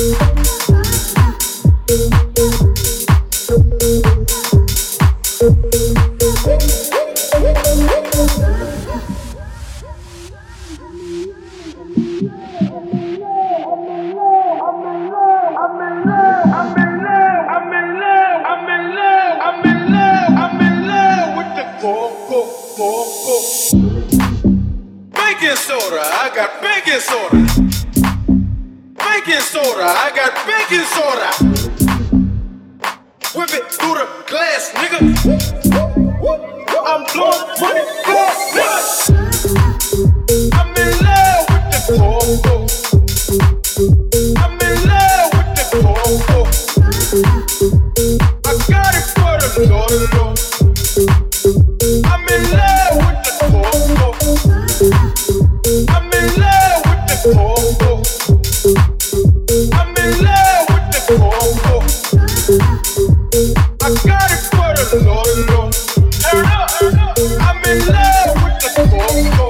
Baking soda, I got baking soda. Baking soda, I got baking soda. Whip it through the glass, nigga. I'm blowing money glass, nigga. I'm in love with the cocoa. I'm in love with the cocoa. I got it for the Lord. I'm in love with the cocoa. I'm in love with the cocoa. I'm in love with the cocoa. I got it for the Lord. Turn up. I'm in love with the cocoa.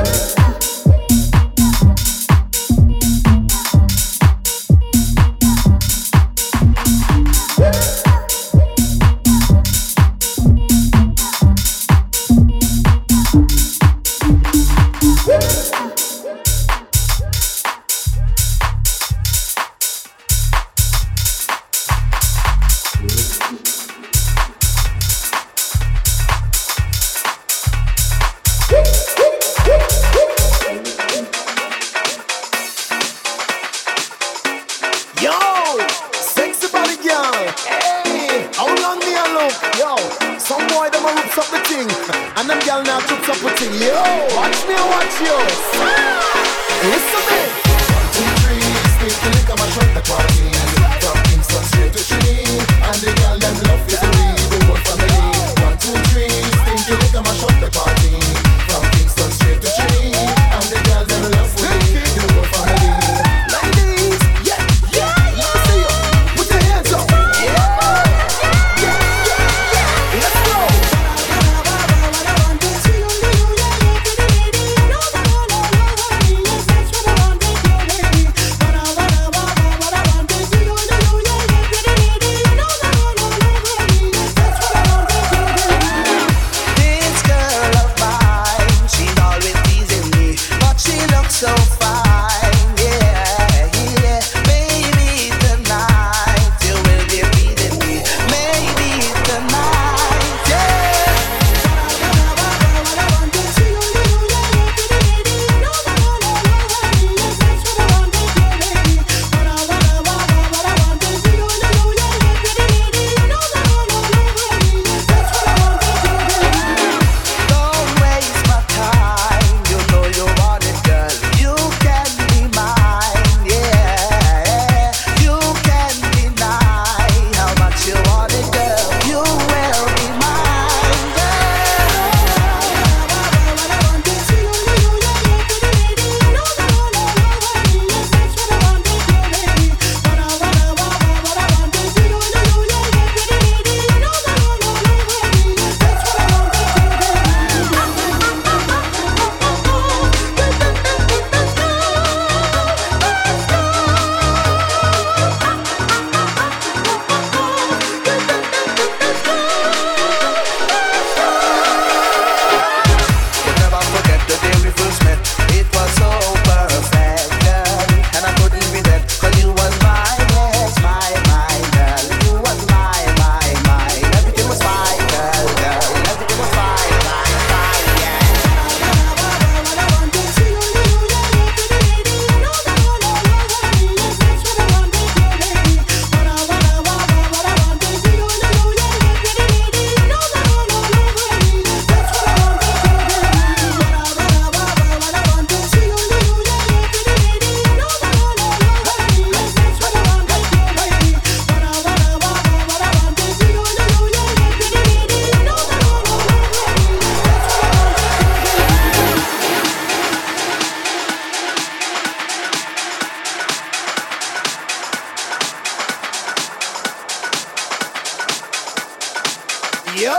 Yo,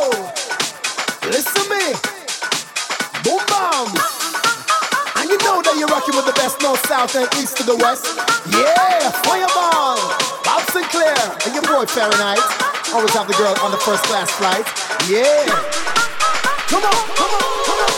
listen to me. Boom bam. And you know that you're rocking with the best north, south, and east to the west. Yeah, fire boy Fahrenheit. Always have the girl on the first class flight. Yeah. Come on, come on, come on.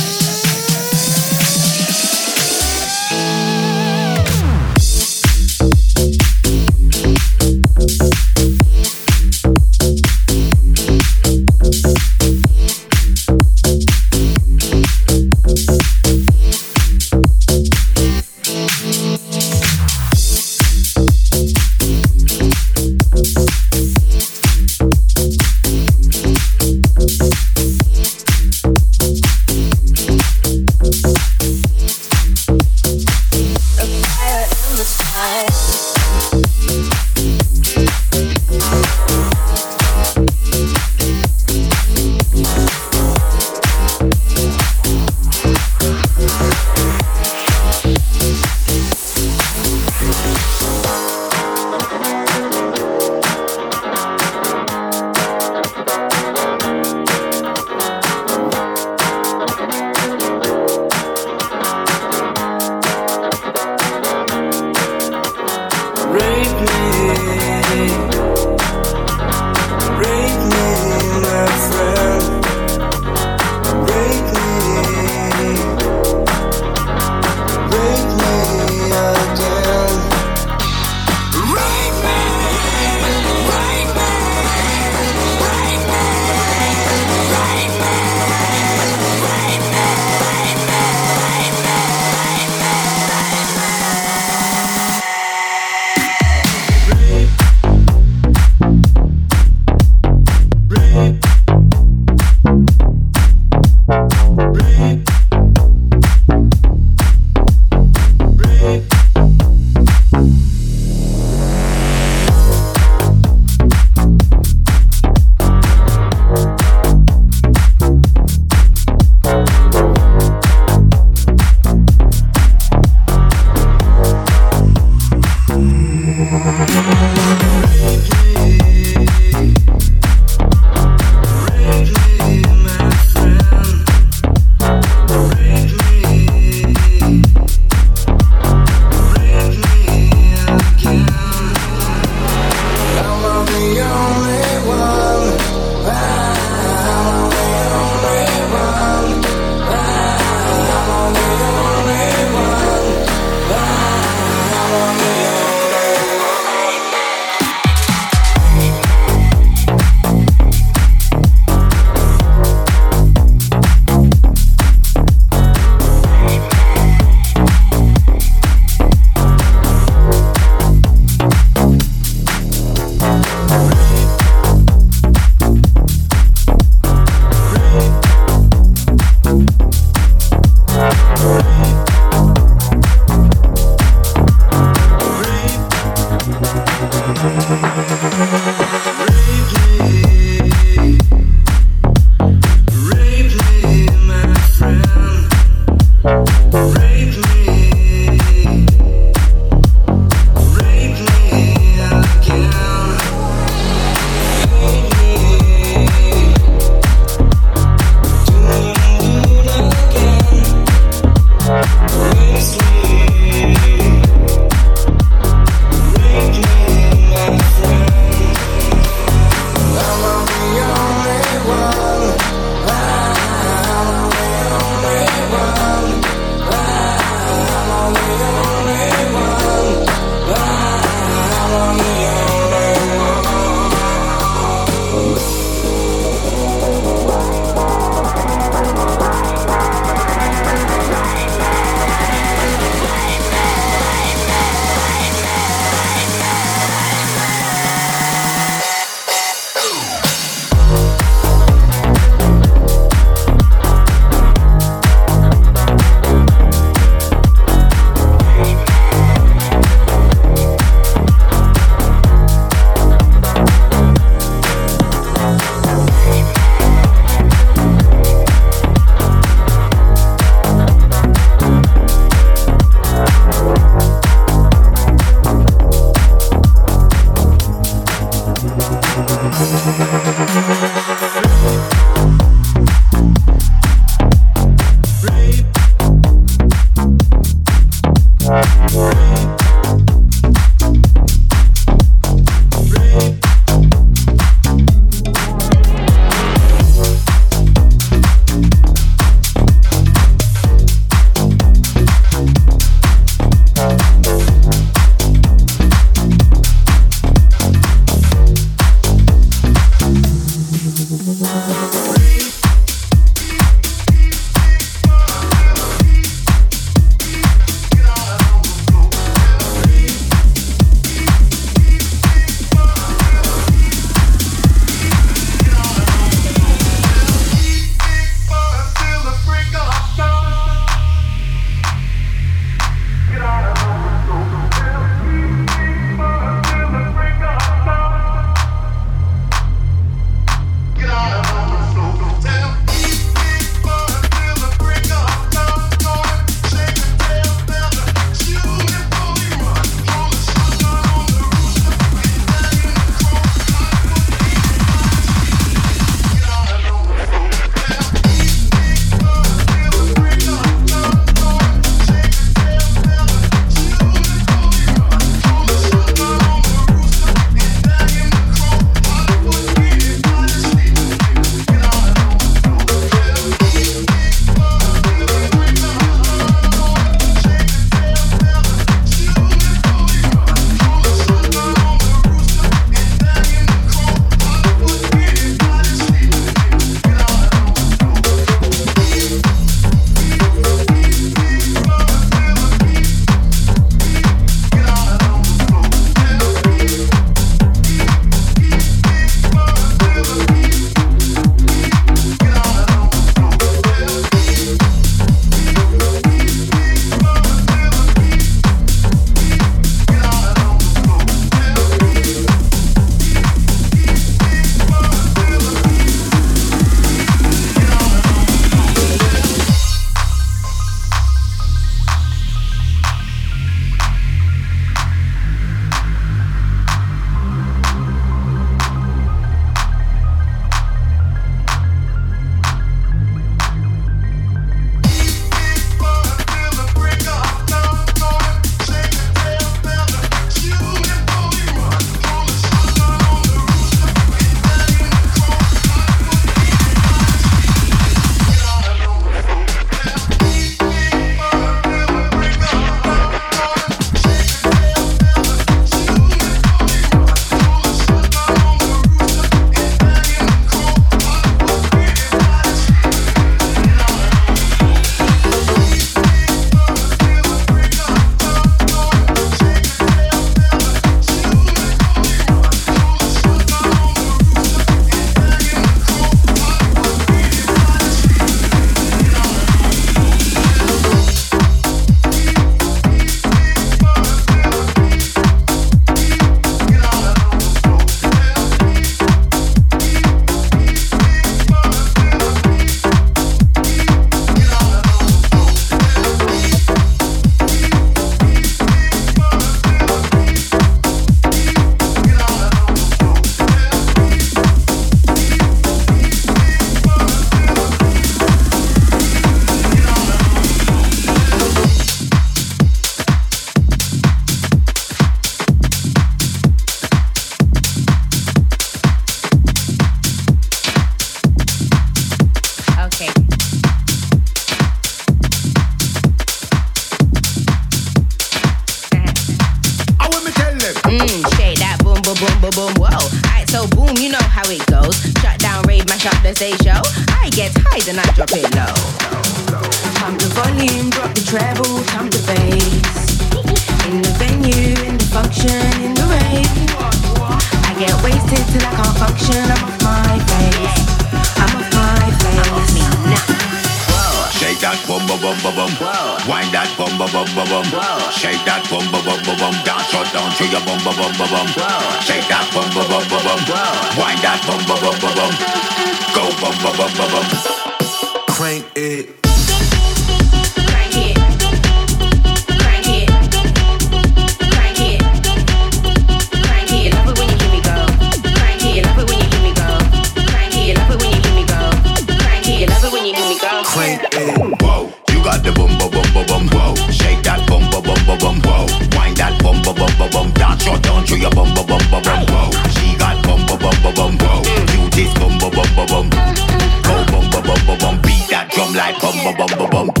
the stage show. I get high, then I drop it low. Pump the volume, drop the treble, pump the bass. In the venue, in the function, in the rave. I get wasted till I can't function. I'm off my face. I'm off my face. I'm off me now. Shake that bum bum bum bum bum. Wind that bum bum bum bum bum. Shake that bum bum bum bum bum. Dance shut down to your bum bum bum bum bum. Shake that bum bum bum bum bum. Wind that bum bum bum bum bum. Go bum bum bum bum bum. Crank it. Crank it. Crank it. Crank it. Crank it. Love it when you hear me go. Crank it. Love it when you hear me go. Crank it. Love it when you hear me go. Crank it. Love it when you hear me go. Crank it. Whoa, you got the bum bum bum bum bum. Whoa, shake that bum bum bum bum bum. Whoa, wind that bum bum bum bum bum. Dance your down to your bum bum bum bum bum. Whoa, she got bum bum bum bum bum. Whoa, you this bum bum bum bum bum. Go bum bum bum bum bum. Beat that drum like bum bum bum bum bum.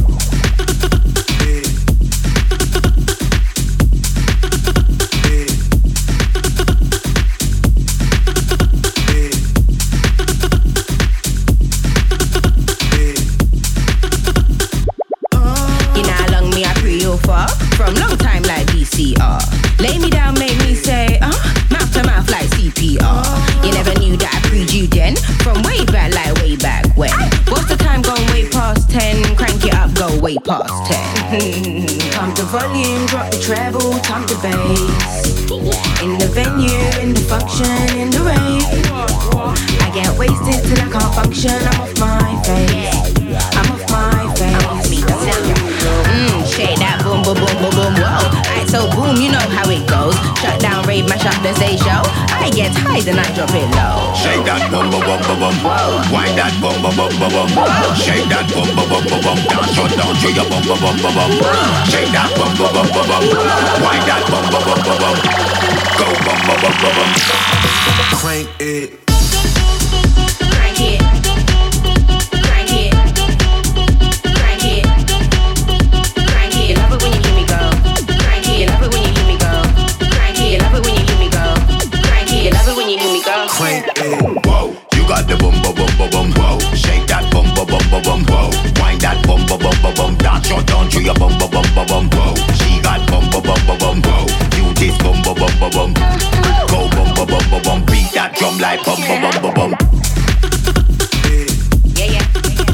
From long time like VCR. Lay me down, make me say, mouth to mouth like CPR. You never knew that I pre'd you then. From way back, like way back when. What's the time gone way past 10? Crank it up, go way past 10. Pump the volume, drop the treble, pump the bass. In the venue, in the function, in the rave. I get wasted till I can't function. I'm off my face. I'm off my face. I'm off me now. Shake that boom, boom, boom, boom, boom, whoa. Alright, so boom, you know how it goes. Shut down, rave, mash up the stage show. I get high, then I drop it low. Shake that bum bum bum bum bum. Wind that bum bum bum bum bum. Shake that bum bum bum bum bum. Dance your down to your bum bum bum bum bum. Shake that bum bum bum bum bum. Wind that bum bum bum bum bum. Go bum bum bum bum bum. Crank it. Crank it. Crank it. Crank it. Crank it. Love it when you hear me go. Crank it. Love it when you hear me go. Crank it. Love it when you hear me go. Crank it. Love it when you hear me go. Crank it. Whoa, you got the bum bum bum bum bum. Whoa, shake that bum bum bum bum bum. Whoa, wind that bum bum bum bum bum. Dance your down to your bum bum bum bum bum. Whoa, she got bum bum bum bum bum. Whoa, you this bum bum bum bum bum. Go bum bum bum bum bum. Beat that drum like bum bum bum bum bum. Yeah, yeah.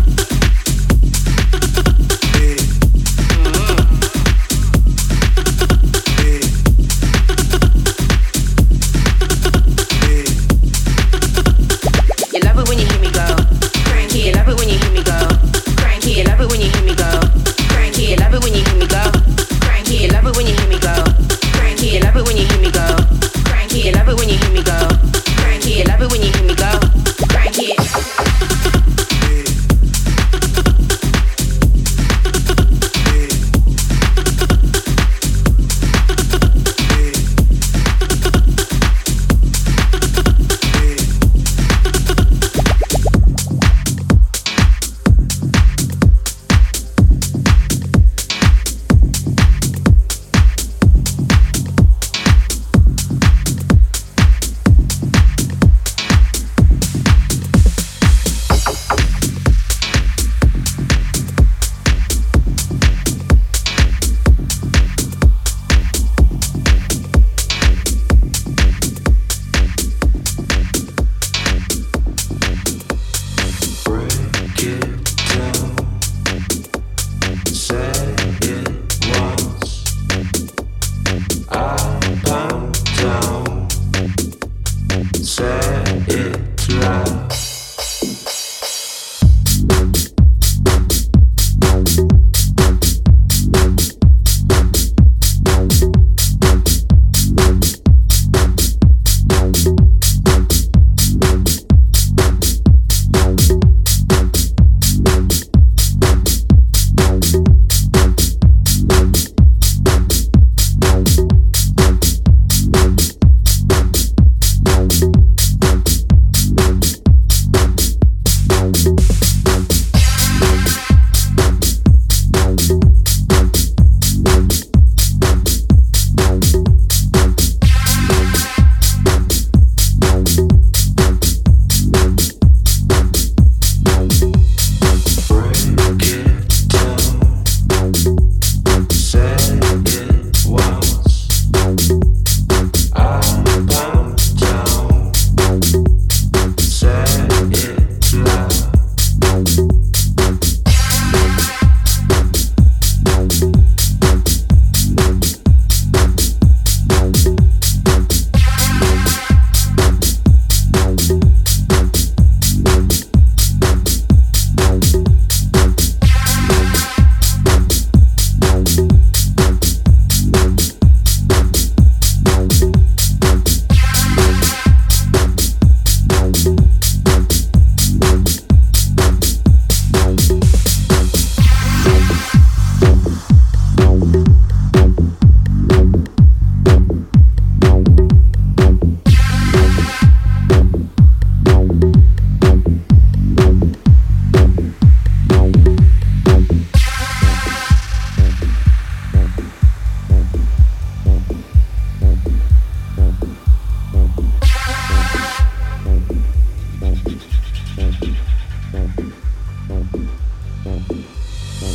You love it when you hear me go. Cranky, you love it when you hear me go. Cranky, you love it when you hear me go. Cranky, you love it when you hear me go. Cranky, you love it when you hear me go. Cranky, you love it when you hear me go. Cranky, you love it when you hear me go. Cranky, you love it when you hear me go.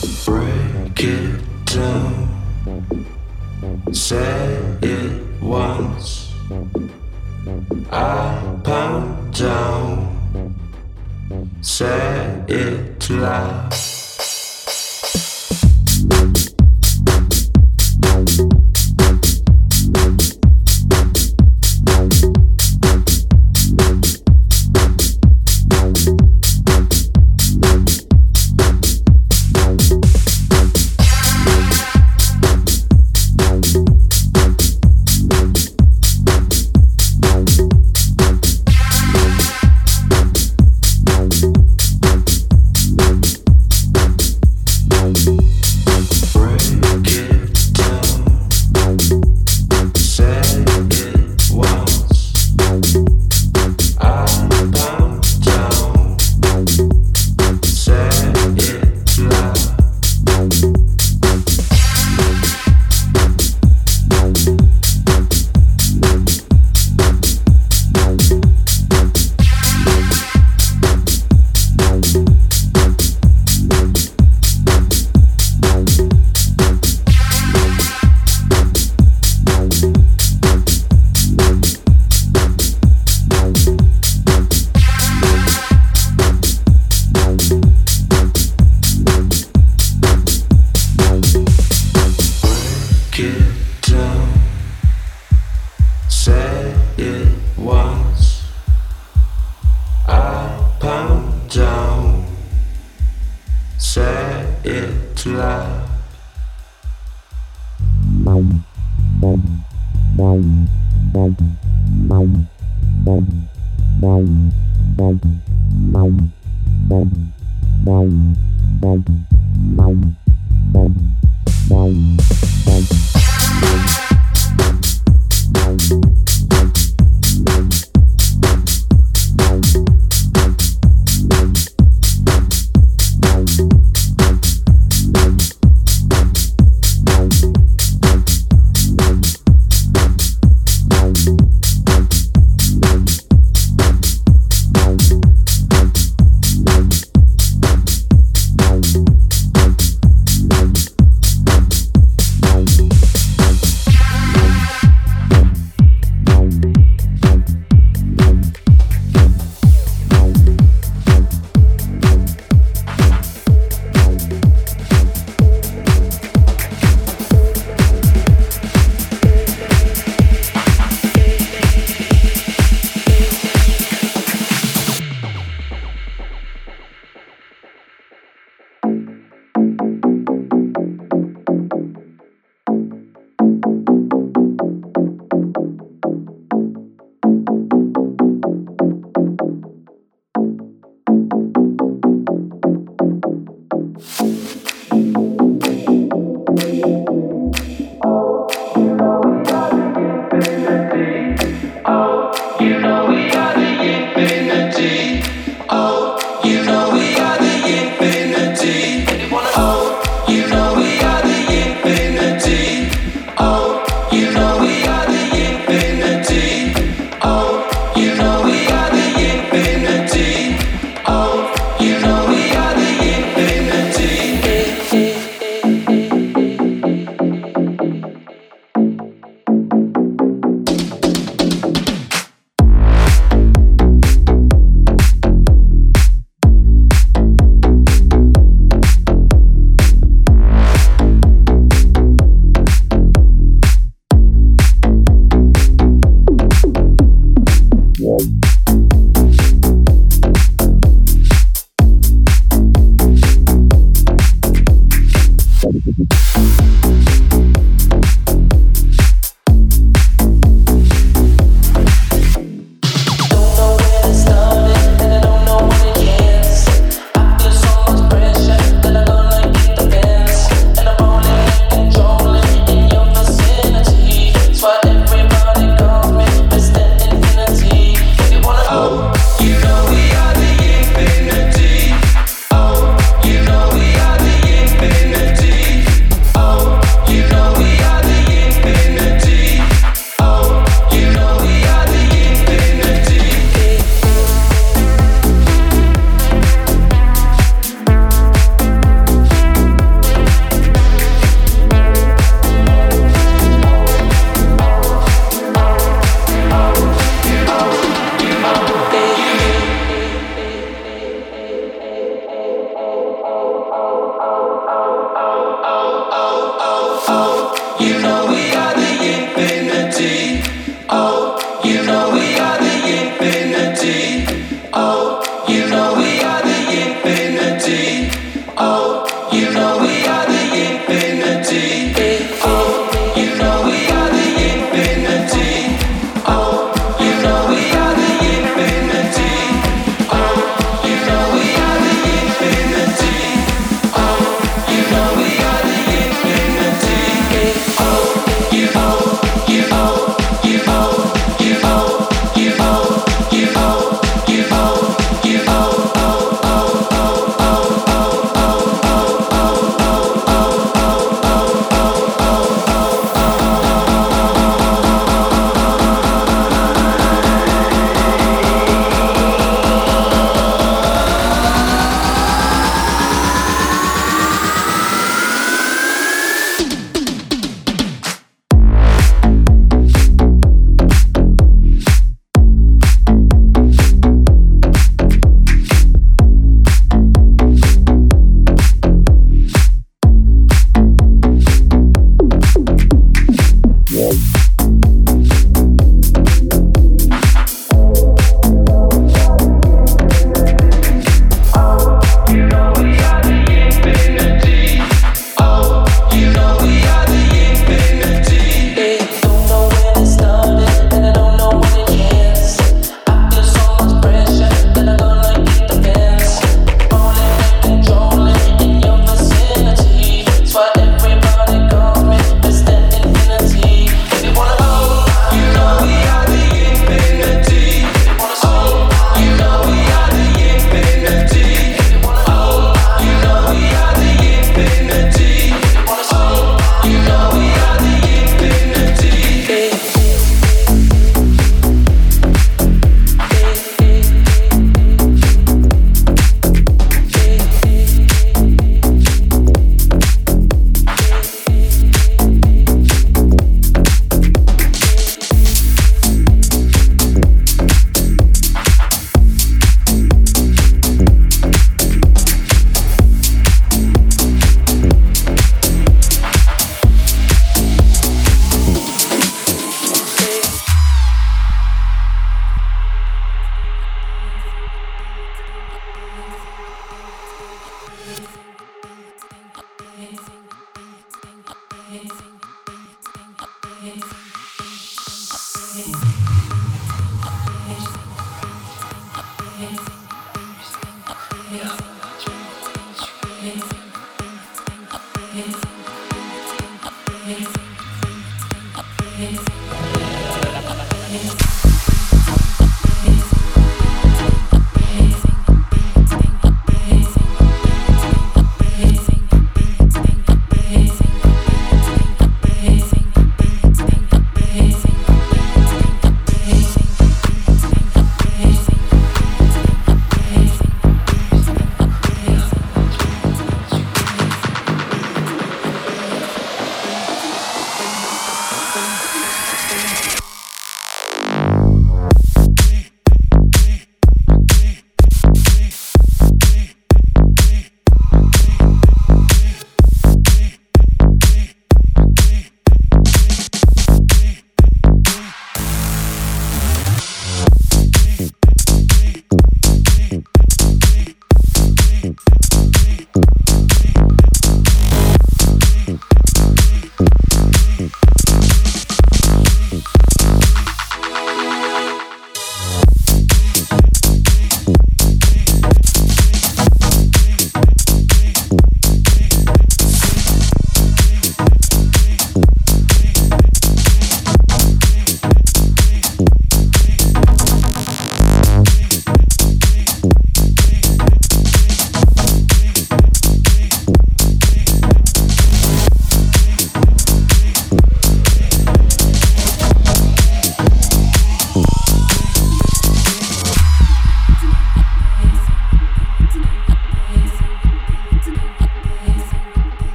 Break it down. Say it once. Up and down. Say it loud. Bye.